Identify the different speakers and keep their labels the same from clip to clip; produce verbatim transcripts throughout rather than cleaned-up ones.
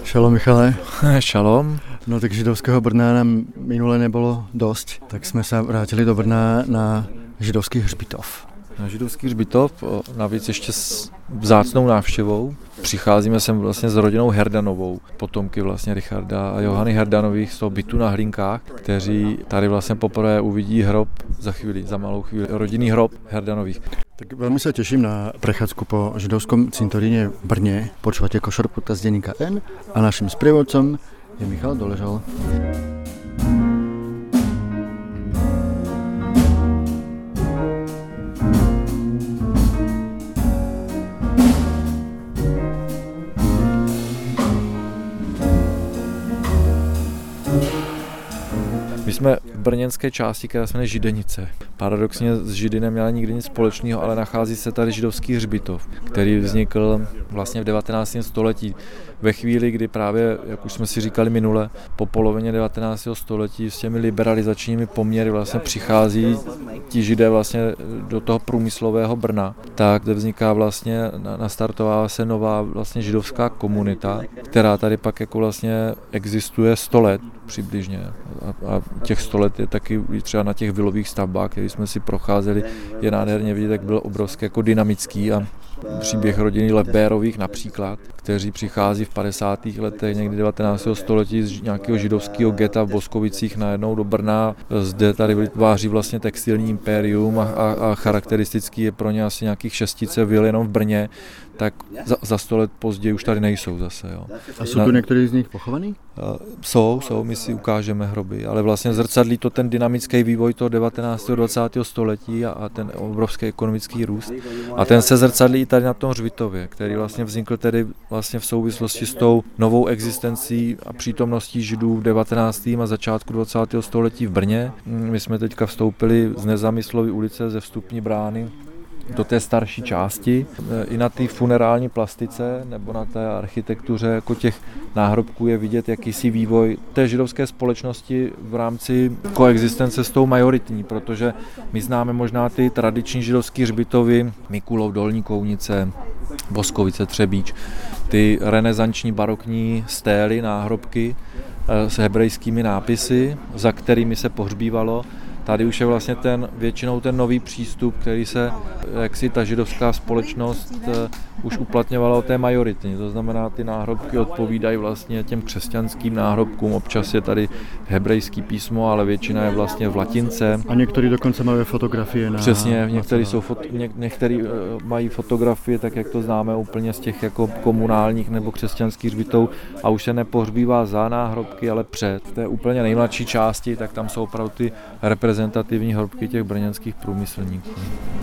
Speaker 1: Šalom, Michale.
Speaker 2: Šalom.
Speaker 1: No tak židovského Brna nám minule nebolo dosť, tak sme sa vrátili do Brna na židovský hřbitov.
Speaker 2: Na židovský hřbitov, navíc ještě s vzácnou návštěvou. Přicházíme sem vlastně s rodinou Herdanovou, potomky vlastně Richarda a Johany Herdanových z toho bytu na Hlinkách, kteří tady vlastně poprvé uvidí hrob za chvíli, za malou chvíli, rodinný hrob Herdanových.
Speaker 1: Tak veľmi sa teším na prechádzku po židovskom cintoríne v Brne. Počúvate Košer podcast denníka N a našim sprievodcom je Michal Doležal.
Speaker 2: My jsme v brněnské části, která se jmenuje Židenice. Paradoxně s Židy neměla nikdy nic společného, ale nachází se tady židovský hřbitov, který vznikl vlastně v devatenáctém století. Ve chvíli, kdy právě, jak už jsme si říkali minule, po polovině devatenáctého století s těmi liberalizačními poměry vlastně přichází ti Židé vlastně do toho průmyslového Brna, tak zde vzniká vlastně, nastartová se nová vlastně židovská komunita, která tady pak jako vlastně existuje sto let přibližně. A, a těch sto let je taky třeba na těch vilových stavbách, které jsme si procházeli, je nádherně vidět, jak byl obrovský jako dynamický a příběh rodiny Lebérových například, kteří přichází v padesátých letech někdy devatenáctého století z nějakého židovského geta v Boskovicích najednou do Brna. Zde tady vytváří vlastně textilní impérium a, a, a charakteristický je pro ně asi nějakých šestice vil jenom v Brně, tak za, za sto let později už tady nejsou zase. Jo.
Speaker 1: A jsou tu některý z nich pochovaný?
Speaker 2: Jsou, jsou, my si ukážeme hroby, ale vlastně zrcadlí to ten dynamický vývoj toho devatenáctého dvacátého století a, a ten obrovský ekonomický růst. A ten se zrcadlí i tady na tom hřbitově, který vlastně vznikl tedy vlastně v souvislosti s tou novou existencí a přítomností Židů v devatenáctém a začátku dvacátého století v Brně. My jsme teďka vstoupili z Nezamyslovy ulice ze vstupní brány do té starší části. I na té funerální plastice nebo na té architektuře jako těch náhrobků je vidět jakýsi vývoj té židovské společnosti v rámci koexistence s tou majoritní, protože my známe možná ty tradiční židovské hřbitovy, Mikulov, Dolní Kounice, Boskovice, Třebíč, ty renesanční barokní stély, náhrobky s hebrejskými nápisy, za kterými se pohřbívalo. Tady už je vlastně ten, většinou ten nový přístup, který se, jak si ta židovská společnost už uplatňovala o té majoritní. To znamená, ty náhrobky odpovídají vlastně těm křesťanským náhrobkům. Občas je tady hebrejský písmo, ale většina je vlastně v latince.
Speaker 1: A některý dokonce mají fotografie na...
Speaker 2: Přesně, některý, jsou fot, ně, některý mají fotografie, tak jak to známe úplně z těch jako komunálních nebo křesťanských hřbitů a už se nepohřbívá za náhrobky, ale před. V té úplně nejmladší části, tak tam jsou opravdu ty reprezentativní hrobky těch brněnských průmyslníků.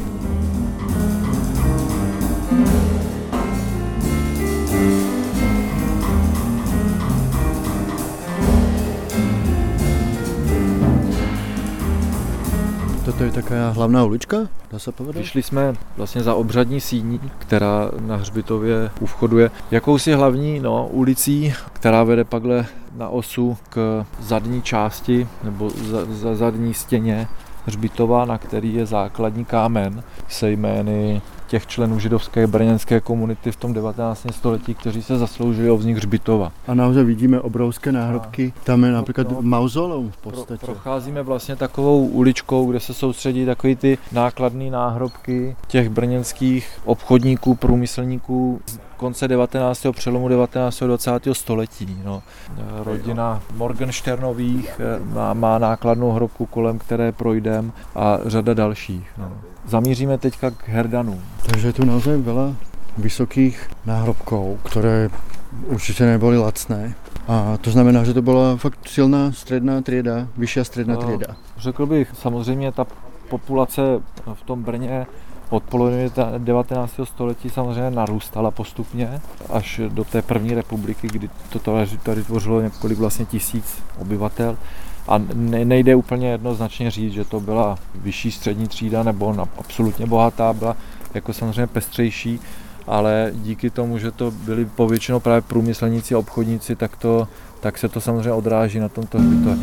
Speaker 1: Toto je taká hlavná ulička, dá se povedat?
Speaker 2: Vyšli jsme vlastně za obřadní síní, která na hřbitově u vchodu je jakousi hlavní no, ulicí, která vede pakle na osu k zadní části nebo za, za zadní stěně hřbitova, na který je základní kámen se jmény těch členů židovské brněnské komunity v tom devatenáctém století, kteří se zasloužili o vznik hřbitova.
Speaker 1: A naozaj vidíme obrovské náhrobky. Tam je například no, mauzoleum v podstatě.
Speaker 2: Pro, procházíme vlastně takovou uličkou, kde se soustředí takový ty nákladné náhrobky těch brněnských obchodníků, průmyslníků z konce devatenáctého přelomu devatenáctého dvacátého století. No. Rodina Morgensternových má, má nákladnou hrobku, kolem které projdeme a řada dalších. No. Zamíříme teďka k Herdanům.
Speaker 1: Takže je tu naozaj veľa vysokých náhrobkov, ktoré určite neboli lacné. A to znamená, že to byla fakt silná středná trieda, vyšší středná trieda.
Speaker 2: Řekl bych, samozřejmě ta populace v tom Brně od poloviny devatenáctého století samozřejmě narůstala postupně až do té první republiky, kdy to tady tvořilo několik vlastně tisíc obyvatel. A nejde úplně jednoznačně říct, že to byla vyšší střední třída nebo absolutně bohatá, byla jako samozřejmě pestřejší, ale díky tomu, že to byli povětšinou právě průmyslníci a obchodníci, tak, to, tak se to samozřejmě odráží na tomto hřbitově.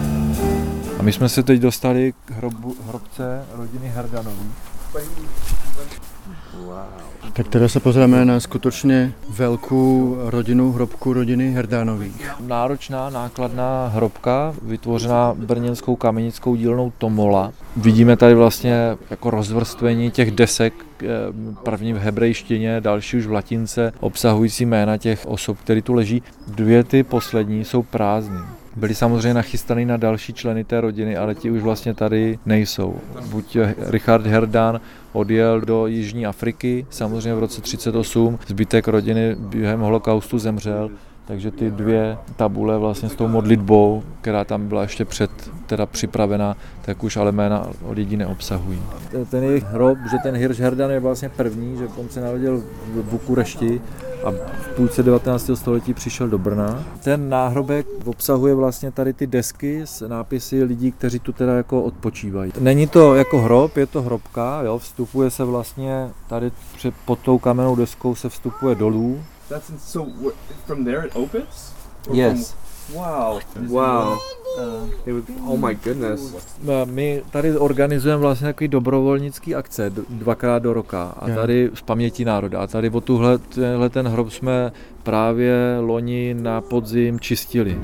Speaker 2: A my jsme se teď dostali k hrobu, hrobce rodiny Herdanových.
Speaker 1: Tak teda sa pozrieme na skutočne veľkú rodinu, hrobku rodiny Herdánových.
Speaker 2: Náročná, nákladná hrobka, vytvořená brněnskou kamenickou dílnou Tomola. Vidíme tady vlastně jako rozvrstvení těch desek, první v hebrejštině, další už v latince, obsahující jména těch osob, které tu leží. Dvě ty poslední jsou prázdné. Byli samozřejmě nachystaný na další členy té rodiny, ale ti už vlastně tady nejsou. Buď Richard Herdán odjel do Jižní Afriky, samozřejmě v roce třicet osm, zbytek rodiny během holokaustu zemřel, takže ty dvě tabule vlastně s tou modlitbou, která tam byla ještě před teda připravená, tak už ale jména od lidí neobsahují. Ten jejich hrob, že ten Hirsch Herdán je vlastně první, že on se narodil v Bukurešti a v půlce devatenáctého století přišel do Brna. Ten náhrobek obsahuje vlastně tady ty desky s nápisy lidí, kteří tu teda jako odpočívají. Není to jako hrob, je to hrobka, jo, vstupuje se vlastně tady před, pod tou kamennou deskou se vstupuje dolů.
Speaker 3: That's so from there it opens?
Speaker 2: Yes.
Speaker 3: Wow. Wow. Uh, oh my goodness.
Speaker 2: My tady organizujeme vlastně takový dobrovolnický akce dvakrát do roka a tady z paměti národa. A tady o tuhle, tenhle ten hrob jsme právě loni na podzim čistili.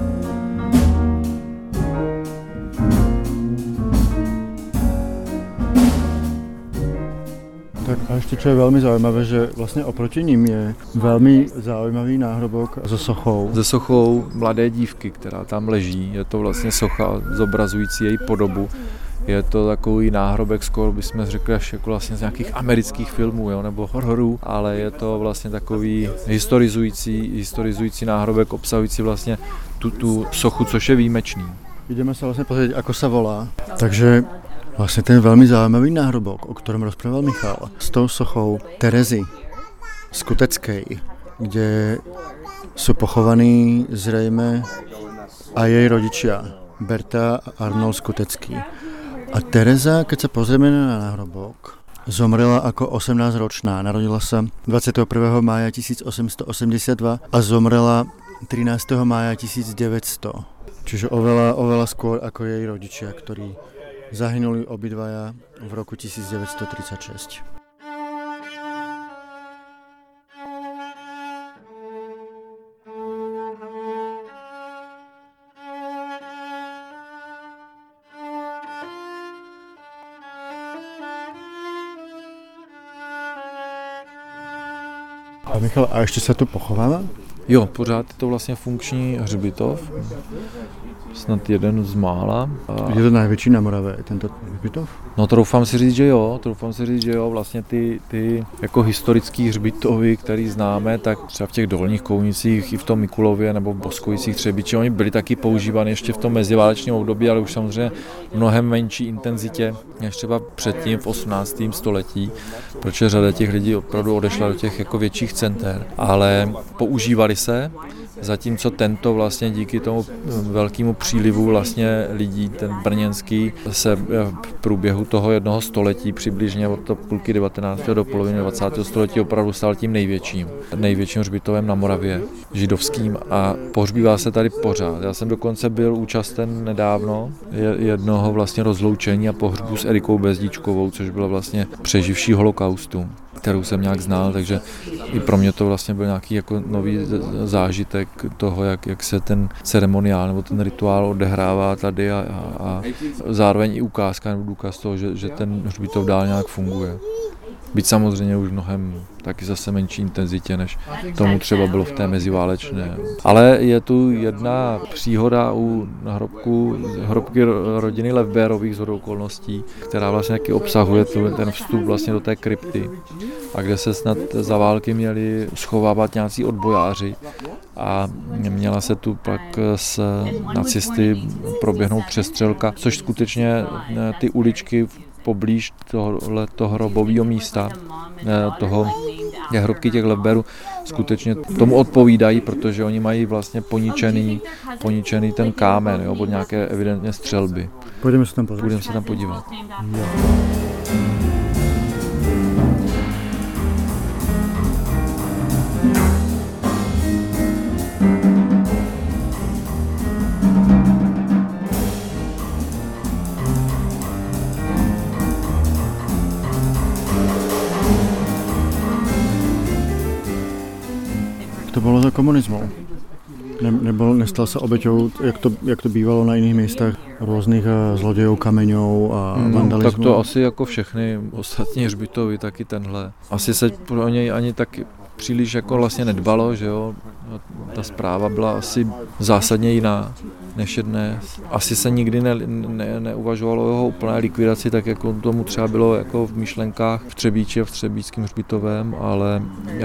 Speaker 1: Tak a ešte čo je veľmi zaujímavé, že vlastne oproti ním je veľmi zaujímavý náhrobok so sochou.
Speaker 2: Se sochou mladé dívky, která tam leží. Je to vlastně socha zobrazující její podobu. Je to takový náhrobek, skoro bychom řekli až jako vlastně z nějakých amerických filmů, jo, nebo hororů, ale je to vlastně takový historizující, historizující náhrobek, obsahující vlastně tu, tu sochu, což je výjimečný.
Speaker 1: Ideme sa vlastne pozrieť, ako sa volá. Takže vlastne ten veľmi zaujímavý náhrobok, o ktorom rozprával Michal, s tou sochou Terezy Skuteckej, kde sú pochovaní zrejme aj jej rodičia, Berta a Arnold Skutecký. A Tereza, keď sa pozrieme na náhrobok, zomrela ako osemnásťročná. Narodila sa dvadsiateho prvého mája tisícosemstoosemdesiatdva a zomrela trinásteho mája tisícdeväťsto. Čiže oveľa, oveľa skôr ako jej rodičia, ktorí zahynuli obidvaja v roku tisícdeväťstotridsaťšesť. A Michal, a ešte sa tu pochováva?
Speaker 2: Jo, pořád je to vlastně funkční hřbitov, snad jeden z mála.
Speaker 1: Je to největší na Moravě, tento hřbitov?
Speaker 2: No troufám si říct, že jo, troufám si říct, že jo, vlastně ty, ty jako historický hřbitovy, který známe, tak třeba v těch dolních Kounicích i v tom Mikulově nebo v Boskojicích Třebíči, oni byli taky používány ještě v tom meziválečném období, ale už samozřejmě mnohem menší intenzitě než třeba předtím v osmnáctém století, protože řada těch lidí opravdu odešla do těch jako větších center, ale používali se, zatímco tento vlastně díky tomu velkému přílivu vlastně lidí, ten brněnský, se v průběhu toho jednoho století přibližně od toho půlky devatenáctého do poloviny dvacátého století opravdu stal tím největším, největším hřbitovem na Moravě, židovským, a pohřbívá se tady pořád. Já jsem dokonce byl účasten nedávno jednoho vlastně rozloučení a pohřbu s Erikou Bezdíčkovou, což byla vlastně přeživší holokaustu, kterou jsem nějak znal, takže i pro mě to vlastně byl nějaký jako nový zážitek toho, jak, jak se ten ceremoniál nebo ten rituál odehrává tady a, a, a zároveň i ukázka nebo důkaz toho, že, že ten hřbitov dál nějak funguje. Byť samozřejmě už mnohem taky zase menší intenzitě, než tomu třeba bylo v té meziválečné. Ale je tu jedna příhoda u hrobku, hrobky rodiny Levbérových shodou okolností, která vlastně taky obsahuje tu, ten vstup vlastně do té krypty, a kde se snad za války měli schovávat nějací odbojáři a měla se tu pak s nacisty proběhnout přestřelka, což skutečně ty uličky poblíž tohoto hrobového místa, toho hrobky těch Levbérů, skutečně tomu odpovídají, protože oni mají vlastně poničený, poničený ten kámen, jo, od nějaké evidentně střelby.
Speaker 1: Půjdeme se tam podívat.
Speaker 2: Půjdeme se tam podívat. Jo.
Speaker 1: bylo za komunismu? Ne, nebo nestal se oběťou, jak to, jak to bývalo na jiných místech, různých zlodějů, kameňů a vandalismu?
Speaker 2: No, tak to asi jako všechny ostatní hřbitovy, taky tenhle. Asi se pro něj ani tak příliš jako vlastně nedbalo, že jo. Ta zpráva byla asi zásadně jiná než je dnes. Asi se nikdy ne, ne, neuvažovalo o jeho úplné likvidaci, tak jako tomu třeba bylo jako v myšlenkách v Třebíči a v Třebíčském hřbitovém, ale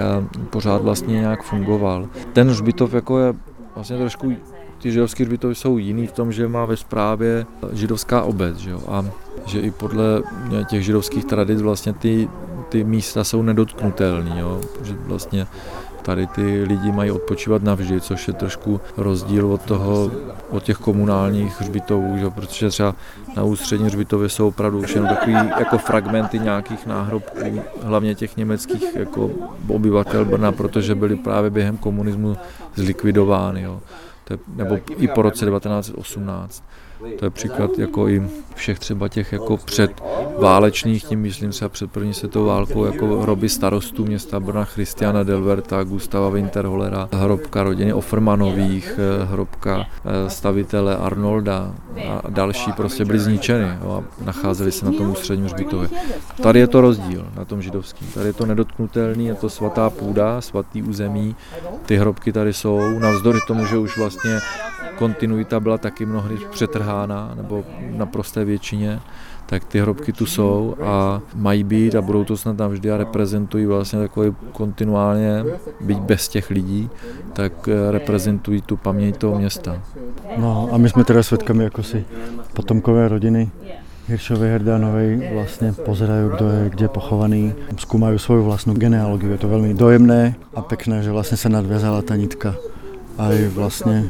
Speaker 2: pořád vlastně nějak fungoval. Ten hřbitov jako je vlastně trošku, ty židovské hřbitovy jsou jiný v tom, že má ve správě židovská obec, že jo, a že i podle těch židovských tradic vlastně ty, ty místa jsou nedotknutelný, jo, že vlastně tady ty lidi mají odpočívat navždy, což je trošku rozdíl od toho, od těch komunálních hřbitovů, že? Protože třeba na ústřední hřbitově jsou opravdu už jenom takový jako fragmenty nějakých náhrobků, hlavně těch německých jako obyvatel Brna, protože byly právě během komunismu zlikvidovány, jo? To je, nebo i po roce devatenáct set osmnáct. To je příklad jako i všech třeba těch jako předválečných, tím myslím třeba před první světovou válkou, jako hroby starostů města Brna, Christiana Delverta, Gustava Winterhollera, hrobka rodiny Offermanových, hrobka stavitele Arnolda a další prostě byly zničeny, jo, a nacházely se na tom ústředním hřbitově. Tady je to rozdíl na tom židovským, tady je to nedotknutelný, je to svatá půda, svatý území, ty hrobky tady jsou, navzdory tomu, že už vlastně kontinuita byla taky mnohdy přetrhána, nebo na prosté většině, tak ty hrobky tu jsou a mají být a budou to snad navždy a reprezentují vlastně takové kontinuálně, byť bez těch lidí, tak reprezentují tu paměť toho města.
Speaker 1: No a my jsme teda svědkami jako si potomkové rodiny Hiršovej, Herdánovej vlastně pozerají, kdo je kde pochovaný, zkoumají svou vlastní genealogii. Je to velmi dojemné a pěkné, že vlastně se nadvězala ta nitka. A i vlastně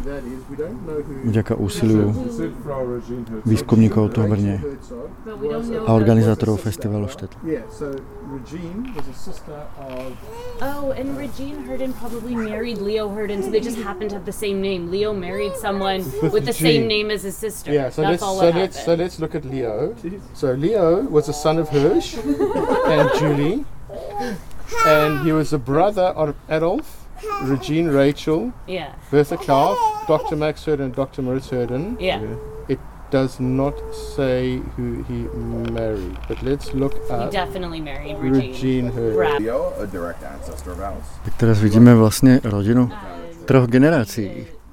Speaker 1: vďaka úsiliu výzkumníkov tu v Brně a organizátorů festivalu Štetl.
Speaker 4: Oh, and Regine Herden probably married Leo Herden, so they just happened to have the same name. Leo married someone with the same name as his sister.
Speaker 5: Yeah, so
Speaker 4: That's
Speaker 5: let's
Speaker 4: all
Speaker 5: so
Speaker 4: what
Speaker 5: let's
Speaker 4: happened.
Speaker 5: so let's look at Leo. So Leo was a son of Hirsch and Julie, and he was a brother of Adolf, Regine Rachel,
Speaker 4: Yeah.
Speaker 5: Bertha Clark, Doctor Max Herden, Doctor Moritz Herden.
Speaker 4: Yeah.
Speaker 5: It does not say who he married, but let's look
Speaker 4: He
Speaker 5: up
Speaker 4: definitely married Regine.
Speaker 5: Regine Herden.
Speaker 4: Brad.
Speaker 6: Leo, a direct ancestor of Alice.
Speaker 1: Tak teraz vidíme vlastně rodinu troch generací,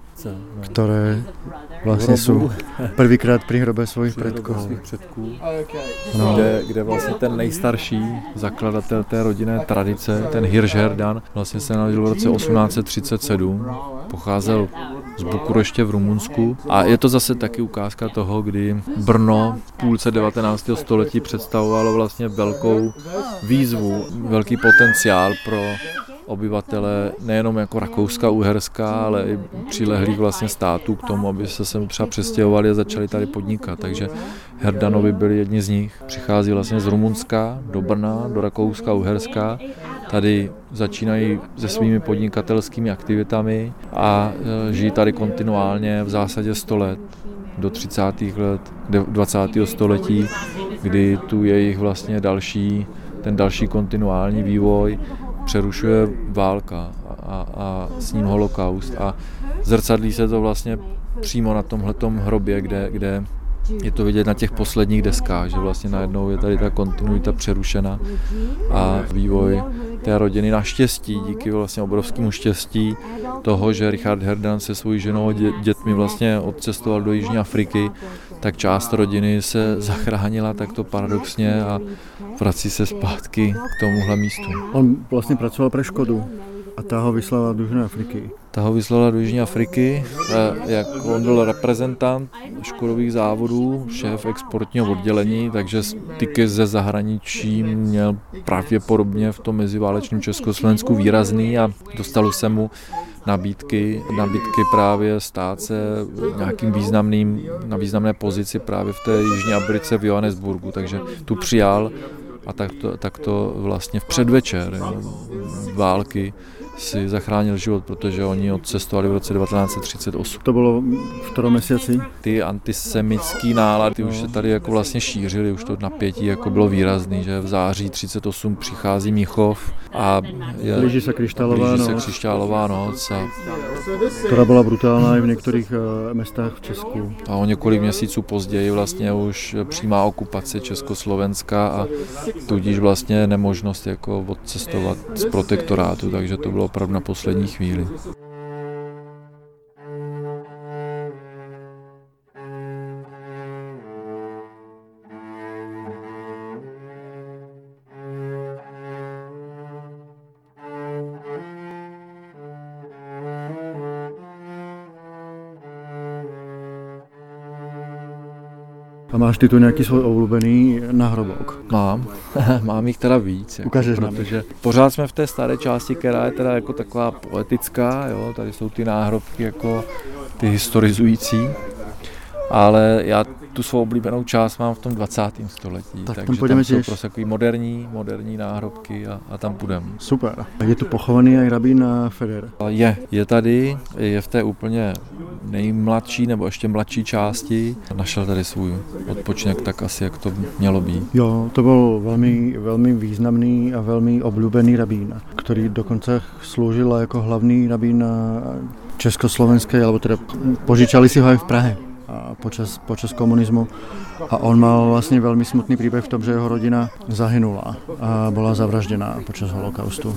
Speaker 1: které vlastně jsou prvýkrát při hrobě svých předků.
Speaker 2: předků.
Speaker 1: No.
Speaker 2: Kde, kde vlastně ten nejstarší zakladatel té rodinné tradice, ten Hirsch Herdan, vlastně se narodil v roce osmnáct set třicet sedm, pocházel z Bukureště v Rumunsku a je to zase taky ukázka toho, kdy Brno v půlce devatenáctého století představovalo vlastně velkou výzvu, velký potenciál pro obyvatele nejenom jako Rakouska, Uherska, ale i přilehlých vlastně států k tomu, aby se sem třeba přestěhovali a začali tady podnikat. Takže Herdanovi byli jedni z nich. Přichází vlastně z Rumunska do Brna, do Rakouska, Uherska. Tady začínají se svými podnikatelskými aktivitami a žijí tady kontinuálně v zásadě sto let, do třicátých let dvacátého století, kdy tu jejich vlastně další, ten další kontinuální vývoj přerušuje válka a, a s ním holokaust a zrcadlí se to vlastně přímo na tomhletom hrobě, kde, kde je to vidět na těch posledních deskách, že vlastně najednou je tady ta kontinuita přerušena a vývoj té rodiny naštěstí, díky vlastně obrovskému štěstí toho, že Richard Herdan se svojí ženou a dětmi vlastně odcestoval do Jižní Afriky, tak část rodiny se zachránila takto paradoxně a vrací se zpátky k tomuhle místu.
Speaker 1: On vlastně pracoval pro Škodu a ta ho vyslala do Jižní Afriky.
Speaker 2: Ta ho vyslala do Jižní Afriky, jak on byl reprezentant Škodových závodů, šéf exportního oddělení, takže styky ze zahraničí měl pravděpodobně v tom meziválečném Československu výrazný a dostalo se mu nabídky, nabídky právě stát se nějakým významným, na významné pozici právě v té Jižní Africe v Johannesburgu, takže tu přijal a tak to, tak to vlastně v předvečer jo, války si zachránil život, protože oni odcestovali v roce devatenáct set třicet osm.
Speaker 1: To bylo v kterém měsíci?
Speaker 2: Ty antisemický nálady už se tady jako vlastně šířily, už to napětí jako bylo výrazný, že v září třicet osm přichází Mnichov a je,
Speaker 1: blíží se křišťálová
Speaker 2: blíží se
Speaker 1: noc.
Speaker 2: křišťálová noc a,
Speaker 1: která byla brutální i v některých uh, městech v Česku.
Speaker 2: a o několik měsíců později vlastně už přímá okupace Československa a tudíž vlastně nemožnost jako odcestovat z protektorátu, takže to bylo opravdu na poslední chvíli.
Speaker 1: A máš ty tu nějaký svůj oblíbený náhrobok?
Speaker 2: Mám, mám jich teda víc, jako,
Speaker 1: Ukážeš nám.
Speaker 2: protože pořád jsme v té staré části, která je teda jako taková poetická, jo, tady jsou ty náhrobky jako ty historizující, ale já tu svou oblíbenou část mám v tom dvacátém století,
Speaker 1: Tak tam
Speaker 2: takže
Speaker 1: půjdeme
Speaker 2: tam jsou
Speaker 1: těž.
Speaker 2: prostě takový moderní, moderní náhrobky a, a tam půjdeme.
Speaker 1: Super. Je tu pochovaný i rabín Feder.
Speaker 2: Je, je tady, je v té úplně nejmladší nebo ještě mladší části. Našel tady svůj odpočinek tak asi, jak to mělo být.
Speaker 1: Jo, to byl velmi, velmi významný a velmi oblíbený rabín, který dokonce sloužil jako hlavní rabín československé, alebo teda požičali si ho aj v Prahe a počas, počas komunismu. A on mal vlastně velmi smutný příběh v tom, že jeho rodina zahynula a byla zavražděná počas holokaustu.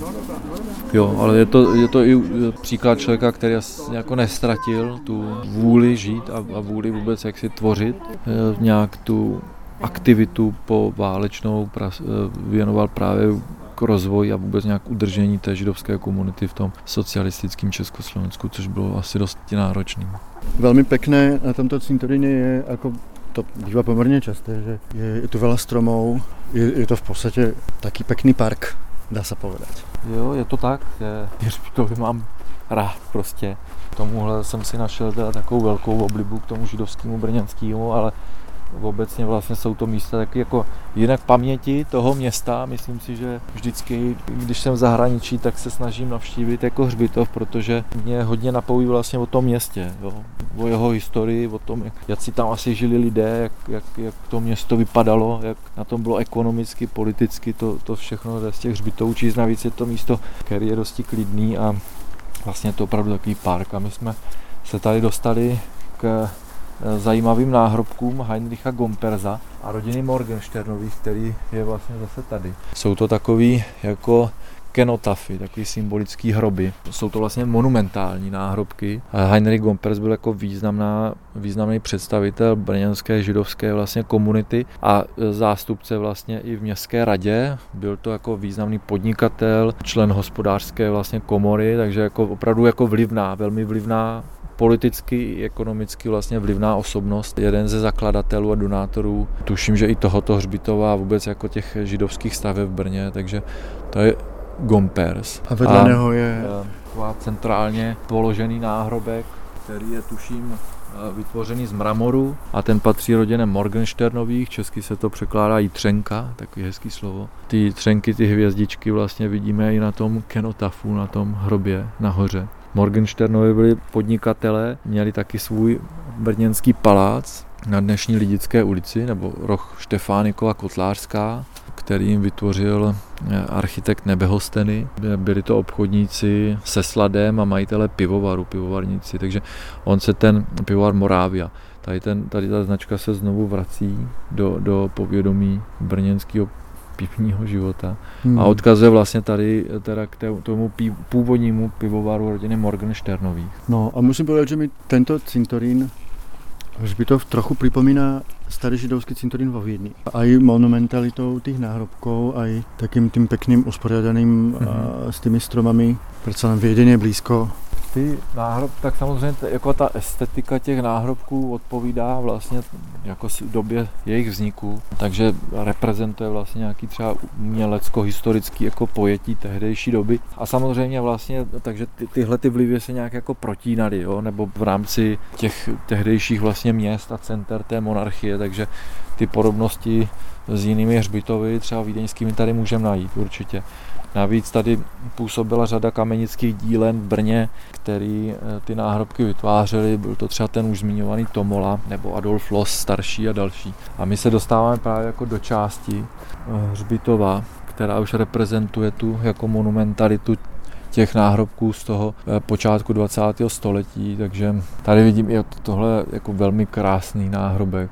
Speaker 2: Jo, ale je to, je to i příklad člověka, který jako nestratil tu vůli žít a, a vůli vůbec jak si tvořit. Nějak tu aktivitu po válečnou pras, věnoval právě k rozvoji a vůbec nějak udržení té židovské komunity v tom socialistickém Československu, což bylo asi dost náročný.
Speaker 1: Velmi pekné na tomto cintoríne je, ako to býva pomerne časté, že je, je tu veľa stromov, je, je to v podstate taký pekný park, dá sa povedať.
Speaker 2: Jo, je to tak, je, to mám rád prostě. Tomuhle jsem si našel teda takovou velkou oblibu k tomu židovskému brněnskému, ale obecně vlastně jsou to místa taky jako jinak paměti toho města. Myslím si, že vždycky, když jsem v zahraničí, tak se snažím navštívit jako hřbitov, protože mě hodně napoví vlastně o tom městě, jo. O jeho historii, o tom, jak, jak si tam asi žili lidé, jak, jak, jak to město vypadalo, jak na tom bylo ekonomicky, politicky, to, to všechno z těch hřbitovů číst. Navíc je to místo, který je dosti klidný a vlastně je to opravdu takový park. A my jsme se tady dostali k zajímavým náhrobkům Heinricha Gompersa a rodiny Morgensternových, který je vlastně zase tady. Jsou to takový jako kenotafy, takový symbolický hroby. Jsou to vlastně monumentální náhrobky. Heinrich Gompers byl jako významná, významný představitel brněnské židovské vlastně komunity a zástupce vlastně i v městské radě. Byl to jako významný podnikatel, člen hospodářské vlastně komory, takže jako opravdu jako vlivná, velmi vlivná politicky i ekonomicky vlastně vlivná osobnost, jeden ze zakladatelů a donátorů. Tuším, že i tohoto hřbitova a vůbec jako těch židovských staveb v Brně, takže to je Gompers.
Speaker 1: A vedle něho je
Speaker 2: taková centrálně položený náhrobek, který je tuším vytvořený z mramoru a ten patří rodině Morgensternových, česky se to překládá jitřenka, takový hezký slovo. Ty jitřenky, ty hvězdičky vlastně vidíme i na tom kenotafu, na tom hrobě nahoře. Morgensternovi byli podnikatelé, měli taky svůj brněnský palác na dnešní Lidické ulici, nebo roh Štefánikova Kotlářská, který jim vytvořil architekt Nebehosteny. Byli to obchodníci se sladem a majitele pivovaru, pivovarníci, takže on se ten pivovar Moravia. Tady, ten, tady ta značka se znovu vrací do, do povědomí brněnského pivního života hmm. a odkazuje vlastně tady teda k tomu původnímu pivovaru rodiny Morgensternových.
Speaker 1: No a musím povedať, že mi tento cintorín hřbitov trochu pripomína starý židovský cintorín vo Viedni. Aj monumentalitou tých náhrobkov, aj takým tým pekným usporiadaným mm-hmm. s tými stromami. Predsa len Viedeň je blízko.
Speaker 2: Ty náhrob, tak samozřejmě t- jako ta estetika těch náhrobků odpovídá vlastně jako době jejich vzniku, takže reprezentuje vlastně nějaký třeba umělecko-historický jako pojetí tehdejší doby a samozřejmě vlastně, takže ty, tyhle ty vlivy se nějak jako protínaly, jo, nebo v rámci těch tehdejších vlastně měst a center té monarchie, takže ty podobnosti s jinými hřbitovy, třeba vídeňskými, tady můžeme najít určitě. Navíc tady působila řada kamenických dílen v Brně, který ty náhrobky vytvářeli. Byl to třeba ten už zmiňovaný Tomola nebo Adolf Loos starší a další. A my se dostáváme právě jako do části hřbitova, která už reprezentuje tu jako monumentalitu těch náhrobků z toho počátku dvacátého století, takže tady vidím i tohle jako velmi krásný náhrobek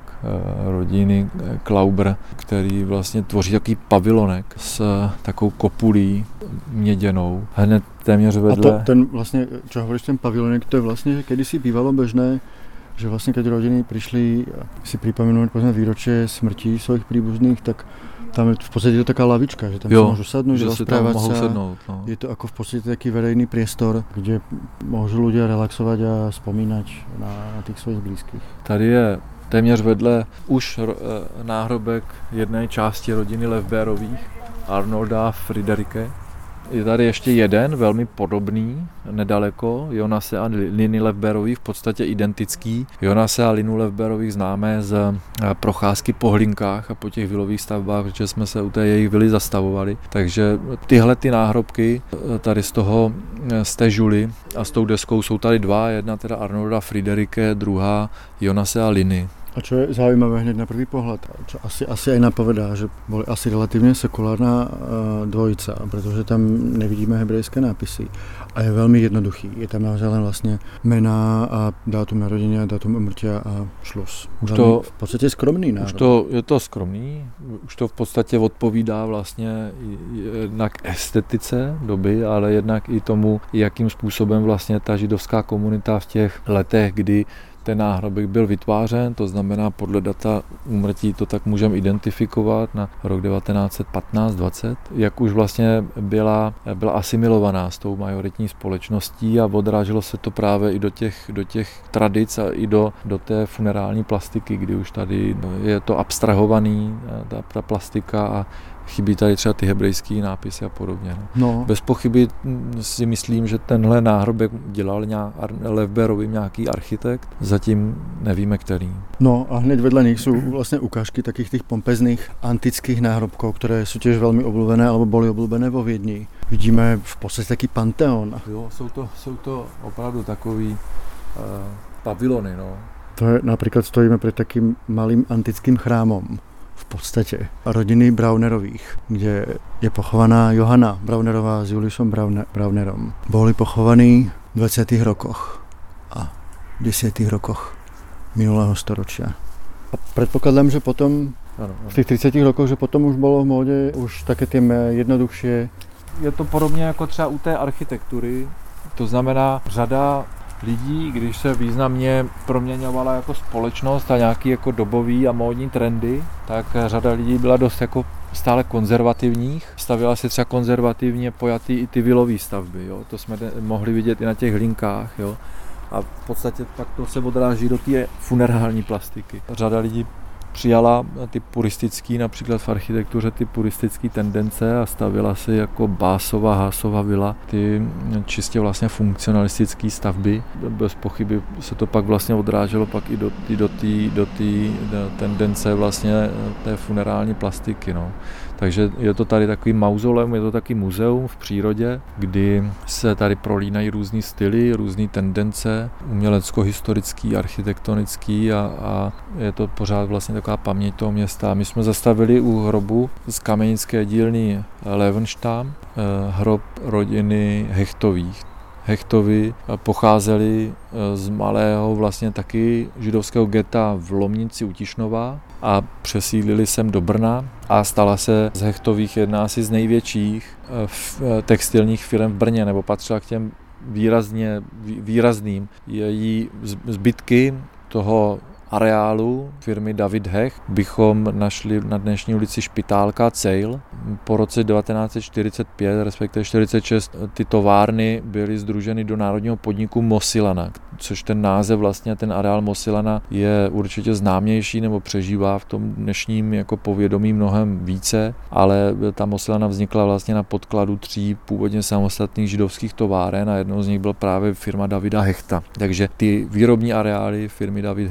Speaker 2: rodiny Klauber, který vlastně tvoří takový pavilonek s takovou kopulí měděnou. Hned téměř vedle.
Speaker 1: A to, ten vlastně, čo hovoríš, ten pavilonek, to je vlastně, že kedysi bývalo bežné, že vlastně keď rodiny přišli si připomenout povedzme výročie smrti svojich príbuzných, tak tam je v podstate to taká lavička, že tam
Speaker 2: jo,
Speaker 1: si môžu sadnúť,
Speaker 2: že
Speaker 1: rozprávať
Speaker 2: si tam
Speaker 1: sa.
Speaker 2: sednúť, no.
Speaker 1: Je to ako v podstate taký verejný priestor, kde môžu ľudia relaxovať a spomínať na, na tých svojich blízkych.
Speaker 2: Tady je téměř vedle už náhrobek jedné části rodiny Levbérových, Arnolda Friederike. Je tady ještě jeden, velmi podobný, nedaleko, Jonase a Liny Levbérových, v podstatě identický. Jonase a Linu Levbérových známe z procházky po hlinkách a po těch vilových stavbách, protože jsme se u té jejich vily zastavovali. Takže tyhle ty náhrobky tady z toho, z té žuly a s tou deskou jsou tady dva, jedna teda Arnolda Friederike, druhá Jonase a Liny.
Speaker 1: A čo je zaujímavé hneď na prvý pohľad, čo asi, asi aj napovedá, že boli asi relatívne sekulárna uh, dvojica, pretože tam nevidíme hebrejské nápisy. A je veľmi jednoduchý. Je tam naozaj len vlastne mená a dátum narodenia, dátum umrtia a šlus. Už to v podstate skromný národ.
Speaker 2: Už to, je to skromný, už to v podstatě odpovídá vlastně jednak estetice doby, ale jednak i tomu, jakým způsobem vlastně ta židovská komunita v těch letech, kdy ten náhrobek byl vytvářen, to znamená podle data úmrtí to tak můžeme identifikovat na rok devatenáct set patnáct dvacet, jak už vlastně byla, byla asimilovaná s tou majoritní společností a odráželo se to právě i do těch, do těch tradic a i do, do té funerální plastiky, kdy už tady je to abstrahovaný, ta, ta plastika a chybí tady třeba ty hebrejský nápisy a podobně.
Speaker 1: No.
Speaker 2: Bez pochyby si myslím, že tenhle náhrobek dělal nějak, Levbérovi nějaký architekt, zatím nevíme který.
Speaker 1: No a hned vedle nich sú vlastne ukážky takých tých pompezných antických náhrobkov, ktoré sú tiež veľmi obľúbené alebo boli obľúbené vo Viedni. Vidíme v podstate taký panteón.
Speaker 2: Jo, jsou to, jsou to opravdu takový uh, pavilony, no.
Speaker 1: To je, napríklad stojíme pred takým malým antickým chrámom. V podstate rodiny Braunerových, kde je pochovaná Johana Braunerová s Juliusom Braunerom. Boli pochovaní v dvadsiatych rokoch a desiatych rokoch minulého storočia. A predpokladám, že potom
Speaker 2: ano, ano.
Speaker 1: v tých tridsiatych rokoch, že potom už bolo v móde už také tie jednoduchšie.
Speaker 2: Je to podobně jako třeba u té architektury, to znamená řada lidí, když se významně proměňovala jako společnost a nějaký jako dobový a módní trendy, tak řada lidí byla dost jako stále konzervativních. Stavila se třeba konzervativně pojatý i ty vilové stavby, jo. To jsme mohli vidět i na těch hlinkách, jo. A v podstatě pak to se odráží do té funerální plastiky. Řada lidí přijala ty puristický, například v architektuře ty puristické tendence a stavila si jako Básova, Haasova vila ty čistě vlastně funkcionalistické stavby. Bez pochyby se to pak vlastně odráželo pak i do té do tý, do tý tendence vlastně té funerální plastiky. No. Takže je to tady takový mauzoleum, je to taky muzeum v přírodě, kdy se tady prolínají různý styly, různé tendence, umělecko-historický, architektonický a, a je to pořád vlastně taková paměť toho města. My jsme zastavili u hrobu z kamenické dílny Levenstam, hrob rodiny Hechtových. Hechtovi pocházeli z malého vlastně taky židovského geta v Lomnici u Tišnova a přesídlili sem do Brna a stala se z Hechtových jedna asi z největších textilních firm v Brně, nebo patřila k těm výrazně, výrazným. Její zbytky toho areálu firmy David Hech bychom našli na dnešní ulici Špitálka Cejl. Po roce devatenáct set čtyřicet pět, respektive čtyřicet šest, ty továrny byly sdruženy do národního podniku Mosilana, což ten název vlastně, ten areál Mosilana je určitě známější nebo přežívá v tom dnešním jako povědomí mnohem více, ale ta Mosilana vznikla vlastně na podkladu tří původně samostatných židovských továren a jednou z nich byla právě firma Davida Hechta. Takže ty výrobní areály firmy David Hech bychom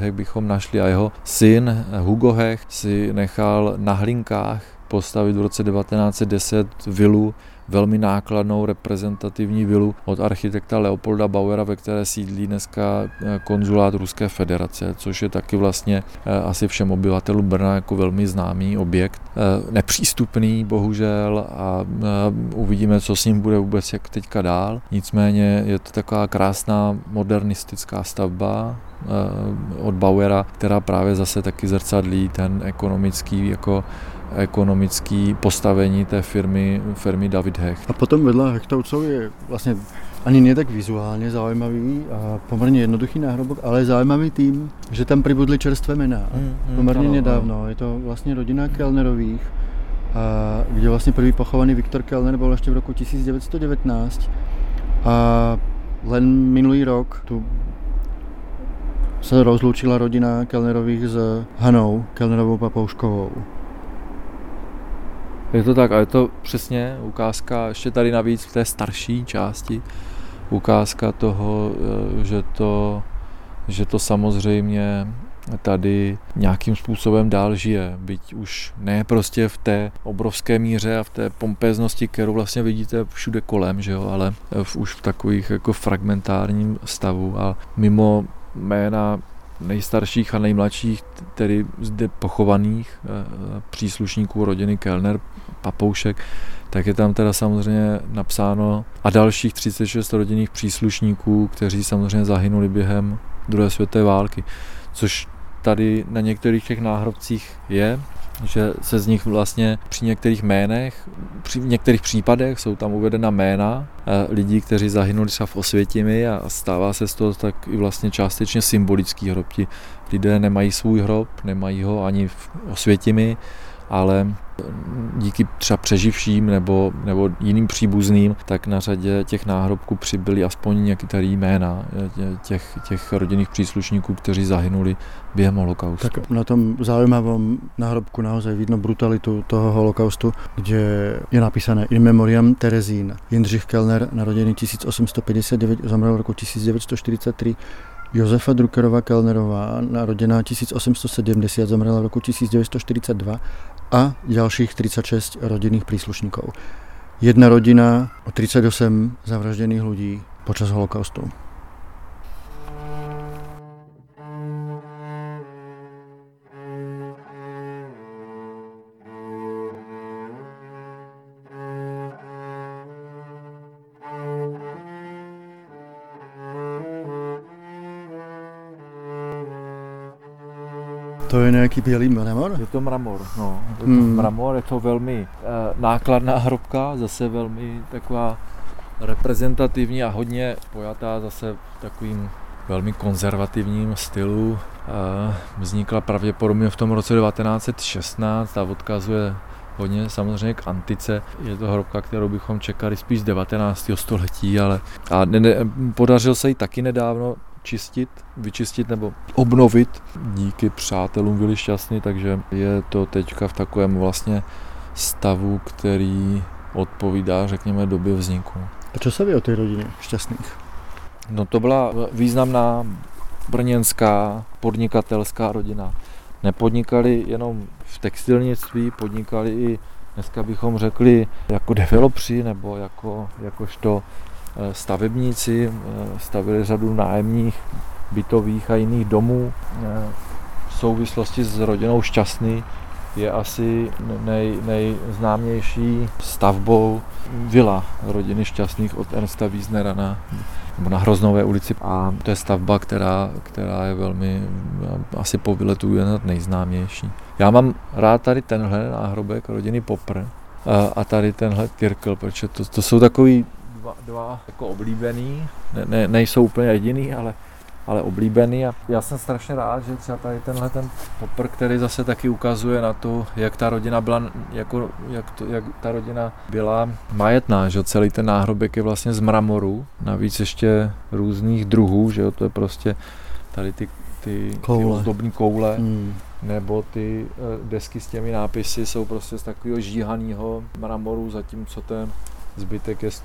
Speaker 2: mimochodem našli a jeho syn Hugo Hecht si nechal na Hlinkách postavit v roce devatenáct set deset vilu, velmi nákladnou reprezentativní vilu od architekta Leopolda Bauera, ve které sídlí dneska konzulát Ruské federace, což je taky vlastně asi všem obyvatelům Brna jako velmi známý objekt. Nepřístupný bohužel a uvidíme, co s ním bude vůbec jak teďka dál. Nicméně je to taková krásná modernistická stavba od Bauera, která právě zase taky zrcadlí ten ekonomický jako ekonomický postavení té firmy, firmy David Hecht.
Speaker 1: A potom vedle Hechtovcov je vlastně ani nie tak vizuálně zaujímavý a poměrně jednoduchý náhrobok, ale je zaujímavý tým, že tam pribudli čerstvé mená. Mm, mm, poměrně nedávno. No. Je to vlastně rodina Kellnerových, a kde vlastně prvý pochovaný Viktor Kellner byl ještě v roku tisíc devět set devätnásť a len minulý rok tu se rozloučila rodina Kellnerových s Hanou Kellnerovou Papouškovou.
Speaker 2: Je to tak, a je to přesně ukázka, ještě tady navíc v té starší části, ukázka toho, že to, že to samozřejmě tady nějakým způsobem dál žije, byť už ne prostě v té obrovské míře a v té pompéznosti, kterou vlastně vidíte všude kolem, že jo, ale v, už v takových jako fragmentárním stavu a mimo jména nejstarších a nejmladších, tedy zde pochovaných příslušníků rodiny Kellner, Papoušek, tak je tam teda samozřejmě napsáno a dalších třicet šest rodinných příslušníků, kteří samozřejmě zahynuli během druhé světové války, což tady na některých těch náhrobcích je, že se z nich vlastně při některých jménech, při některých případech jsou tam uvedena jména lidí, kteří zahynuli třeba v Osvětimi a stává se z toho tak i vlastně částečně symbolický hrob. Ti lidé nemají svůj hrob, nemají ho ani v Osvětimi, ale díky třeba přeživším nebo, nebo jiným příbuzným, tak na řadě těch náhrobků přibyly aspoň některé jména těch, těch rodinných příslušníků, kteří zahynuli během holokaustu.
Speaker 1: Tak na tom zaujímavom náhrobku naozaj vidno brutalitu toho holokaustu, kde je napísané In memoriam Terezín. Jindřich Kellner, narodený tisíc osm set padesát devět, zomrel v roku tisíc devět set čtyřicet tři. Josefa Druckerová Kellnerová, narodená tisíc osm set sedemdesiat, zomrela v roku tisíc devět set čtyřicet dva a ďalších tridsať šesť rodinných príslušníkov. Jedna rodina o tridsaťosem zavraždených ľudí počas holokaustu. To je nějaký bělý mramor?
Speaker 2: Je to mramor, no. Je to
Speaker 1: hmm.
Speaker 2: mramor, je to velmi e, nákladná hrobka, zase velmi taková reprezentativní a hodně pojatá zase takovým velmi konzervativním stylu. E, vznikla pravděpodobně v tom roce devatenáct set šestnáct a odkazuje hodně samozřejmě k antice. Je to hrobka, kterou bychom čekali spíš z devatenáctého století, ale a ne, ne, podařil se jí taky nedávno čistit, vyčistit nebo obnovit díky přátelům Vily Šťastný, takže je to teďka v takovém vlastně stavu, který odpovídá, řekněme, době vzniku.
Speaker 1: A co se ví o té rodině Šťastných?
Speaker 2: No to byla významná brněnská podnikatelská rodina. Nepodnikali jenom v textilnictví, podnikali i, dneska bychom řekli, jako developři nebo jako, jakožto stavebníci, stavili řadu nájemních bytových a jiných domů. V souvislosti s rodinou Šťastný je asi nej, nejznámější stavbou vila rodiny Šťastných od Ernsta Wiesnera na, nebo na Hroznové ulici. A to je stavba, která, která je velmi, asi po vyletu je nejznámější. Já mám rád tady tenhle náhrobek rodiny Popr a tady tenhle Kirkel, protože to, to jsou takový dva, dva jako oblíbený, ne, ne, nejsou úplně jediný, ale, ale oblíbený a já jsem strašně rád, že třeba tady tenhle ten Popr, který zase taky ukazuje na to, jak ta rodina byla, jako, jak, to, jak ta rodina byla majetná, že celý ten náhrobek je vlastně z mramoru, navíc ještě různých druhů, že jo, to je prostě tady ty, ty, ty ozdobní koule, hmm. nebo ty desky s těmi nápisy jsou prostě z takového žíhaného mramoru, zatímco ten zbytek je z,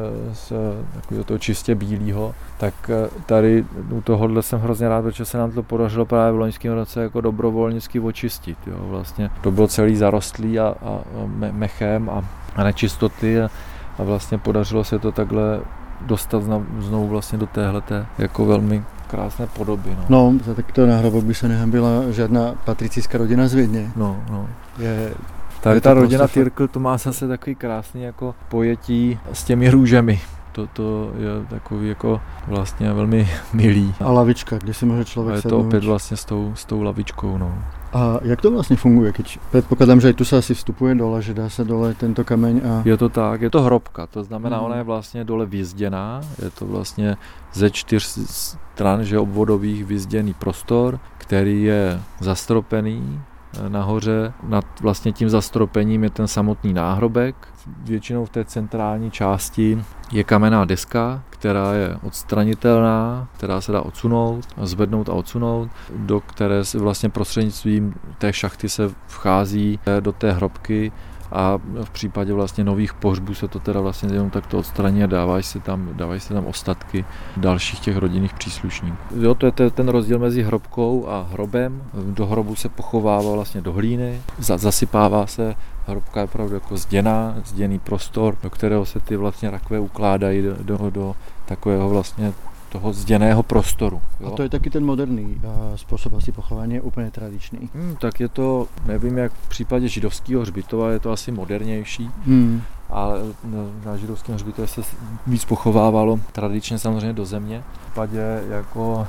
Speaker 2: z takového toho čistě bílého, tak tady u tohohle jsem hrozně rád, protože se nám to podařilo právě v loňském roce jako dobrovolnicky očistit. Jo. Vlastně to bylo celý zarostlý a, a me, mechem a, a nečistoty a, a vlastně podařilo se to takhle dostat znovu vlastně do téhleté jako velmi krásné podoby. No,
Speaker 1: no za takto náhrobok by se nehambila žádná patricijská rodina z Vídně.
Speaker 2: No, no. Je, tady ta rodina Tyrkl to má zase takový krásný jako pojetí s těmi růžemi. To, to je takový jako vlastně velmi milý.
Speaker 1: A lavička, kde si může člověk sednout.
Speaker 2: A je to opět vlastně s tou, s tou lavičkou. No.
Speaker 1: A jak to vlastně funguje? Keď předpokládám, že i tu se asi vstupuje dole, že dá se dole tento kameň a...
Speaker 2: Je to tak, je to hrobka, to znamená, hmm. ona je vlastně dole vyzděná, je to vlastně ze čtyř stran, že obvodových vyzděný prostor, který je zastropený nahoře. Nad vlastně tím zastropením je ten samotný náhrobek. Většinou v té centrální části je kamenná deska, která je odstranitelná, která se dá odsunout, zvednout a odsunout, do které se vlastně prostřednictvím té šachty se vchází do té hrobky a v případě vlastně nových pohřbů se to teda vlastně jenom takto odstraní a dávají se tam, dávají se tam ostatky dalších těch rodinných příslušníků. Jo, to je ten rozdíl mezi hrobkou a hrobem. Do hrobu se pochovává vlastně do hlíny, zasypává se, hrobka je opravdu jako zděná, zděný prostor, do kterého se ty vlastně rakve ukládají do, do, do takového vlastně toho zděného prostoru. Jo?
Speaker 1: A to je taky ten moderní způsob asi pochování, je úplně tradiční.
Speaker 2: Hmm, tak je to, nevím, jak v případě židovského hřbitova je to asi modernější,
Speaker 1: hmm.
Speaker 2: ale na židovském hřbitově se víc pochovávalo tradičně samozřejmě do země. V případě jako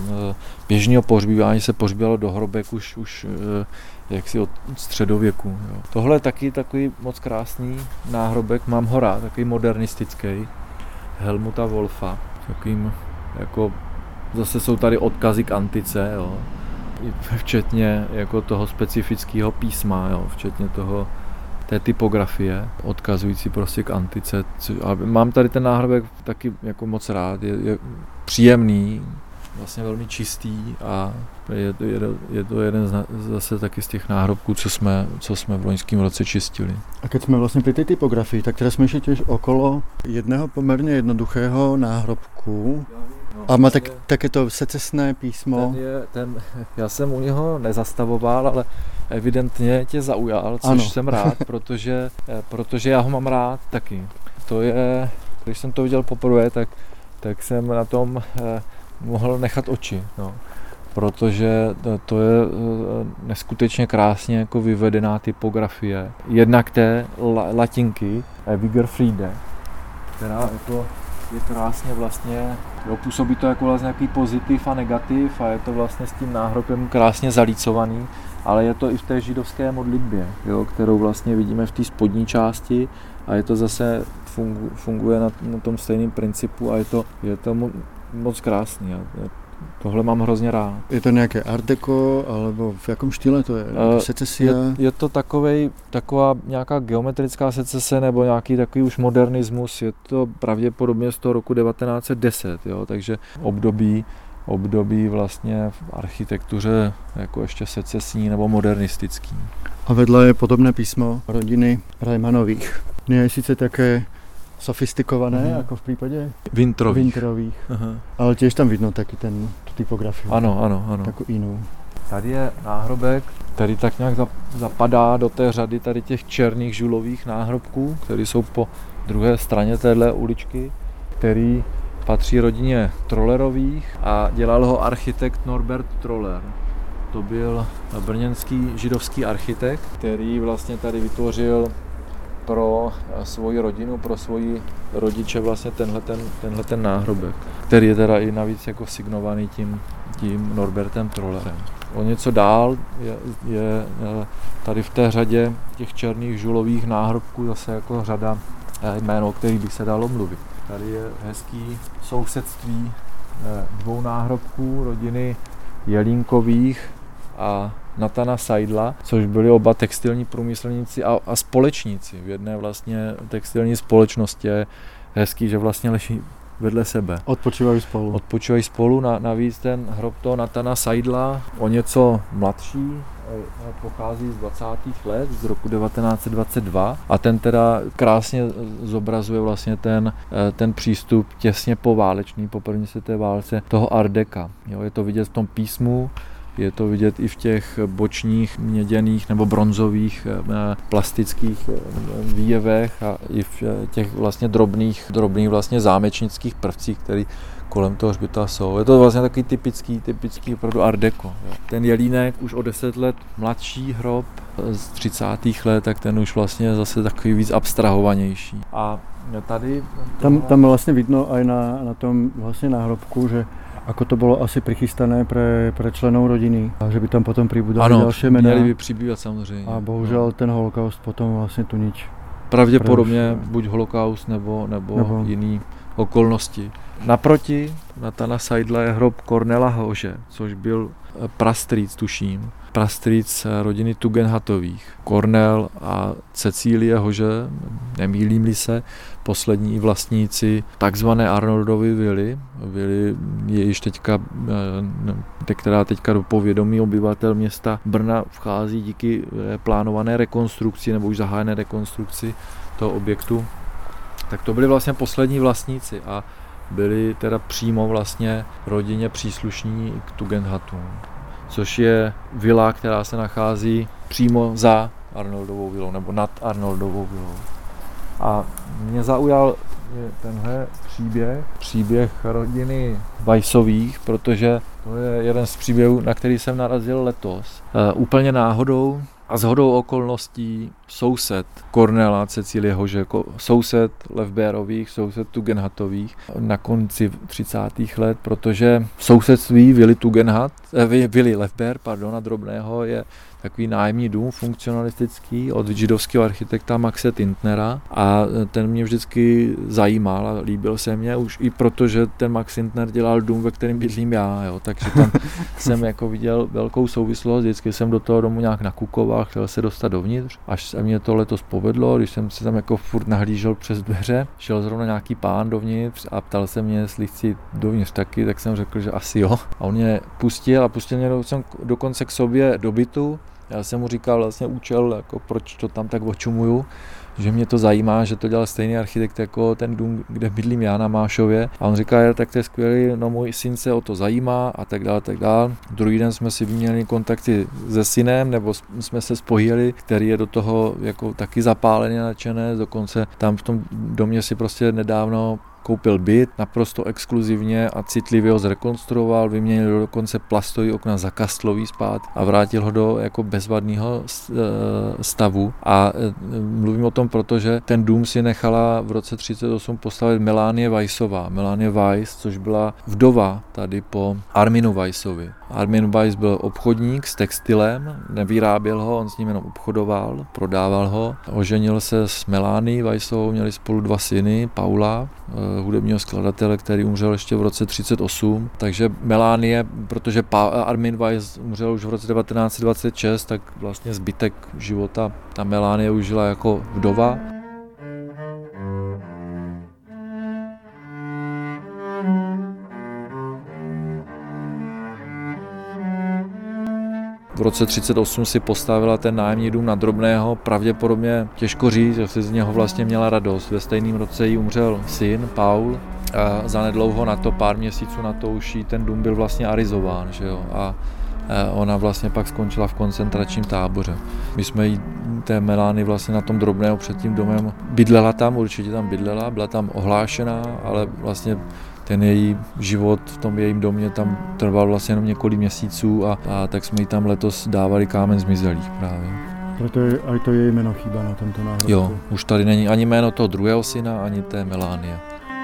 Speaker 2: běžného pohřbívání se pohřbívalo do hrobek už, už jaksi od středověku. Jo. Tohle je taky takový moc krásný náhrobek, mám ho rád, takový modernistický, Helmuta Wolfa, takovým jako, zase jsou tady odkazy k antice, jo. Včetně jako toho specifického písma, jo. Včetně toho, té typografie, odkazující prostě k antice. A mám tady ten náhrobek taky jako moc rád, je, je příjemný, vlastně velmi čistý a je to, je, je to jeden z, zase taky z těch náhrobků, co jsme, co jsme v loňském roce čistili.
Speaker 1: A keď jsme vlastně při té typografii, tak teraz jsme tiež okolo jedného poměrně jednoduchého náhrobku a má tak, takéto secesné písmo.
Speaker 2: Ten je, ten, já jsem u něho nezastavoval, ale evidentně tě zaujal, což ano. Jsem rád, protože, protože já ho mám rád taky. To je, když jsem to viděl poprvé, tak, tak jsem na tom eh, mohl nechat oči, no. Protože to je neskutečně krásně jako vyvedená typografie. Jednak té latinky Wiggerfriede, která jako je krásně vlastně, jo, působí to jako vlastně nějaký pozitiv a negativ a je to vlastně s tím náhrobem krásně zalícovaný, ale je to i v té židovské modlitbě, jo, kterou vlastně vidíme v té spodní části a je to zase fungu, funguje na, na tom stejném principu a je to, je to moc krásný. Tohle mám hrozně rád.
Speaker 1: Je to nějaké art deco, alebo v jakém štýle to je? Uh, Secesia?
Speaker 2: Je, je to takovej, taková nějaká geometrická secese nebo nějaký takový už modernismus. Je to pravděpodobně z toho roku devatenáct set deset, jo? Takže období, období vlastně v architektuře jako ještě secesní nebo modernistický.
Speaker 1: A vedle je podobné písmo rodiny Reimanových. Je sice také sofistikované, uh-huh. jako v případě
Speaker 2: Winterových.
Speaker 1: Winterových. Uh-huh. Ale těž tam vidno taky ten, tu typografii.
Speaker 2: Ano, ano, ano.
Speaker 1: Takovou jinou.
Speaker 2: Tady je náhrobek, který tak nějak zapadá do té řady tady těch černých žulových náhrobků, které jsou po druhé straně téhle uličky, který patří rodině Trollerových a dělal ho architekt Norbert Troller. To byl brněnský židovský architekt, který vlastně tady vytvořil pro svoji rodinu, pro svoji rodiče vlastně tenhle ten, tenhle ten náhrobek, který je teda i navíc jako signovaný tím, tím Norbertem Trollerem. O něco dál je, je tady v té řadě těch černých žulových náhrobků zase jako řada jméno, o kterých by se dalo mluvit. Tady je hezký sousedství dvou náhrobků rodiny Jelínkových a Natana Seidla, což byli oba textilní průmyslníci a, a společníci v jedné vlastně textilní společnosti. Je hezký, že vlastně leží vedle sebe.
Speaker 1: Odpočívají spolu.
Speaker 2: Odpočívají spolu, na, navíc ten hrob toho Natana Seidla, o něco mladší pochází z dvacátých let, z roku devatenáct set dvacet dva a ten teda krásně zobrazuje vlastně ten, ten přístup těsně poválečný, po první světové válce, toho Art Deca. Jo, je to vidět v tom písmu, je to vidět i v těch bočních měděných nebo bronzových plastických výjevech a i v těch vlastně drobných, drobných vlastně zámečnických prvcích, které kolem toho hřbitova jsou. Je to vlastně takový typický, typický opravdu Art Deco. Jo. Ten Jelínek už o deset let mladší hrob z třicátých let, tak ten už vlastně zase takový víc abstrahovanější. A tady...
Speaker 1: Tam, tam vlastně vidno aj na, na tom vlastně náhrobku, že ako to bylo asi prichystané pre, pre členov rodiny a že by tam potom pribudali další jména.
Speaker 2: Ano, měli by přibývat samozřejmě.
Speaker 1: A bohužel no. ten holokaust potom vlastně tu nič.
Speaker 2: Pravděpodobně buď holokaust nebo, nebo, nebo jiný okolnosti. Naproti Nathana Seidla je hrob Cornela Hože, což byl prastrýc, tuším, prastrýc rodiny Tugendhatových. Cornel a Cecílie Hože, nemýlím-li se, poslední vlastníci takzvané Arnoldovy vily. Vily je již teďka, která teďka do povědomí obyvatel města Brna vchází díky plánované rekonstrukci nebo už zahájené rekonstrukci toho objektu. Tak to byli vlastně poslední vlastníci a byli teda přímo vlastně rodině příslušní k Tugendhatům, což je vila, která se nachází přímo za Arnoldovou vilou nebo nad Arnoldovou vilou. A mě zaujal tenhle příběh, příběh rodiny Weissových, protože to je jeden z příběhů, na který jsem narazil letos. E, úplně náhodou a shodou okolností soused Cornela, Cecílie Hože, soused Lefberových, soused Tugendhatových na konci třicátých let, protože v sousedství vily Tugendhat, eh, vily Lefber, pardon, a Drobného je takový nájemní dům funkcionalistický od židovského architekta Maxe Tintnera a ten mě vždycky zajímal a líbil se mě už i proto, že ten Max Tintner dělal dům, ve kterém bydlím já, jo, takže tam jsem jako viděl velkou souvislost, vždycky jsem do toho domu nějak nakukoval, chtěl se dostat dovnitř, až se mě to letos povedlo, když jsem se tam jako furt nahlížel přes dveře, šel zrovna nějaký pán dovnitř a ptal se mě, jestli chci dovnitř taky, tak jsem řekl, že asi jo. A on mě pustil a pustil mě dokonce k sobě do bytu. Já jsem mu říkal vlastně účel, jako proč to tam tak očumuju, že mě to zajímá, že to dělal stejný architekt jako ten dům, kde bydlím já na Mášově. A on říká, tak to je skvělý, no můj syn se o to zajímá a tak dále, tak dále. Druhý den jsme si vyměnili kontakty se synem, nebo jsme se spojili, který je do toho jako taky zapáleně nadšené, dokonce tam v tom domě si prostě nedávno koupil byt, naprosto exkluzivně a citlivě ho zrekonstruoval, vyměnil dokonce plastový okna za kastlový spát a vrátil ho do jako bezvadného stavu. A mluvím o tom, protože ten dům si nechala v roce třicet osm postavit Melanie Weissová. Melanie Weiss, což byla vdova tady po Arminu Weissovi. Armin Weiss byl obchodník s textilem, nevyráběl ho, on s ním jenom obchodoval, prodával ho. Oženil se s Melanie Weissovou, měli spolu dva syny, Paula, hudebního skladatele, který umřel ještě v roce třicet osm. Takže Melanie, protože pa- Armin Weiss umřel už v roce devatenáct set dvacet šest, tak vlastně zbytek života ta Melanie už žila jako vdova. V roce třicet osm si postavila ten nájemní dům na Drobného, pravděpodobně těžko říct, že si z něho vlastně měla radost. Ve stejném roce jí umřel syn, Paul, a zanedlouho na to, pár měsíců na to už jí ten dům byl vlastně arizován, že jo, a ona vlastně pak skončila v koncentračním táboře. My jsme jí, té Melanie vlastně na tom Drobného před tím domem, bydlela tam, určitě tam bydlela, byla tam ohlášená, ale vlastně ten její život v tom jejím domě tam trval vlastně jenom několik měsíců a, a tak jsme jí tam letos dávali kámen zmizelých právě.
Speaker 1: Proto je, aj to její jméno chýba na tomto náhrobku.
Speaker 2: Jo, už tady není ani jméno toho druhého syna, ani té Melanie.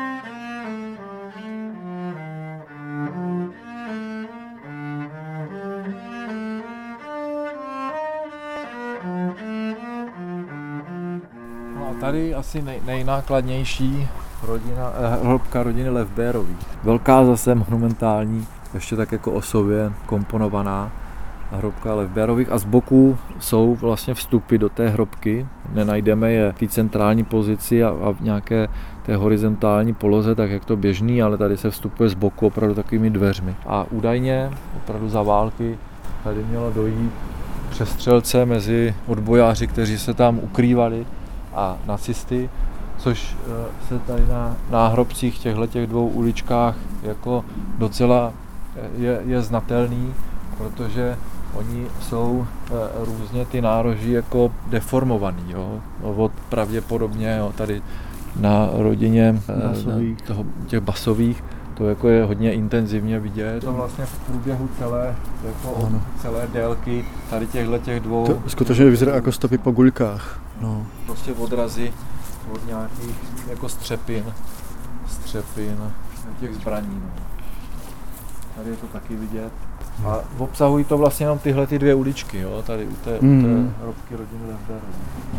Speaker 2: No a tady asi nej, nejnákladnější rodina, eh, hrobka rodiny Lefberových. Velká zase monumentální, ještě tak jako osově komponovaná hrobka Lefberových a z boku jsou vlastně vstupy do té hrobky. Nenajdeme je v té centrální pozici a, a v nějaké té horizontální poloze, tak jak to běžný, ale tady se vstupuje z boku opravdu takovými dveřmi. A údajně, opravdu za války, tady mělo dojít přestřelce mezi odbojáři, kteří se tam ukrývali, a nacisty, což se tady na náhrobcích těchto dvou uličkách jako docela je, je znatelný, protože oni jsou různě ty nároží jako deformovaný, jo, od pravděpodobně, jo, tady na rodině basových. Toho, těch basových, to jako je hodně intenzivně vidět. Je to vlastně v průběhu celé, jako celé délky tady těchto těch dvou.
Speaker 1: To skutečně vyzerá jako stopy po guľkách. No.
Speaker 2: Prostě odrazy od nějakých jako střepin, střepin těch zbraní. No. Tady je to taky vidět. A obsahují to vlastně jenom tyhle ty dvě uličky, jo, tady u té, mm. u té hrobky rodiny Lefderů.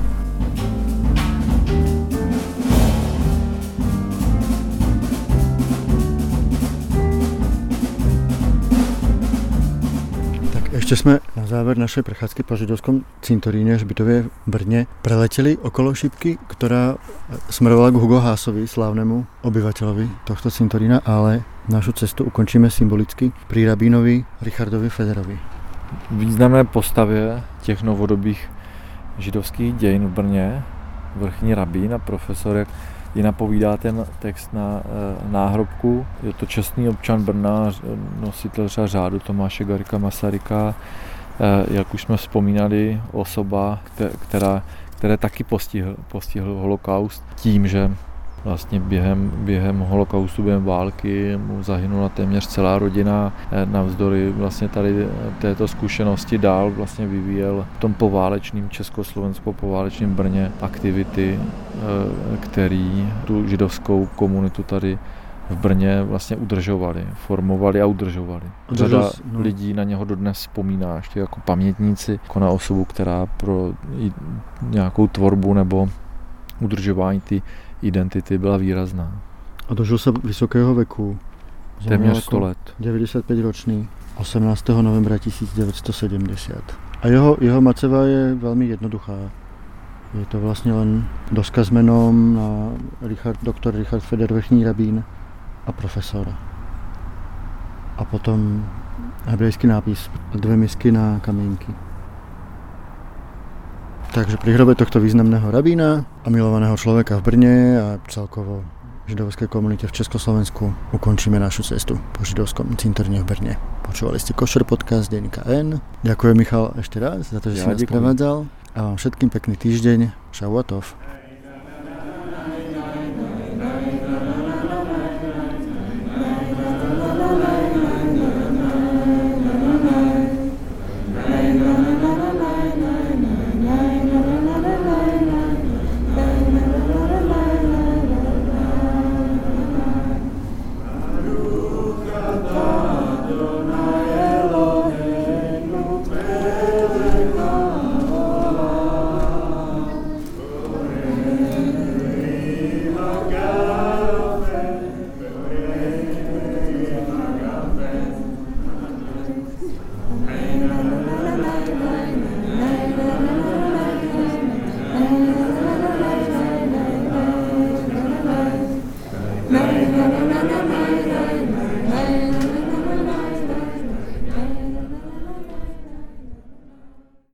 Speaker 1: Ešte sme na záver našej prechádzky po židovskom cintoríne Hřbitovie v Brne preleteli okolo šipky, ktorá smerovala k Hugo Haasovi, slávnemu obyvateľovi tohto cintorína, ale našu cestu ukončíme symbolicky pri rabínovi Richardovi Federovi.
Speaker 2: Významné postavě těch novodobých židovských dějin v Brně, vrchní rabín a profesor, jak i napovídá ten text na e, náhrobku. Je to čestný občan Brna, nositel třeba řádu Tomáše Garrigua Masaryka, e, jak už jsme vzpomínali, osoba, která, které taky postihl, postihl holokaust tím, že vlastně během, během holokaustu, během války mu zahynula téměř celá rodina. Navzdory vlastně tady této zkušenosti dál vlastně vyvíjel v tom poválečném československo-poválečném Brně aktivity, který tu židovskou komunitu tady v Brně vlastně udržovali, formovali a udržovali. Řada no. lidí na něho dodnes vzpomíná, ještě jako pamětníci, jako na osobu, která pro nějakou tvorbu nebo udržování ty identity byla výrazná.
Speaker 1: A dožil sa vysokého veku.
Speaker 2: Téměř sto let.
Speaker 1: deväťdesiatpäť ročný, osemnásteho novembra tisícdeväťstosedemdesiat. A jeho, jeho maceva je veľmi jednoduchá. Je to vlastne len doska s menom na Richard, doktor Richard Feder, vrchní rabín a profesor. A potom hebrejský nápis a dve misky na kamienky. Takže pri hrobe tohto významného rabína a milovaného človeka v Brne a celkovo židovskej komunite v Československu ukončíme našu cestu po židovskom cintoríne v Brne. Počúvali ste Košer podcast denníka N. Ďakujem, Michal, ešte raz za to, že ja si nás prevádzal a vám všetkým pekný týždeň. Šavuatov.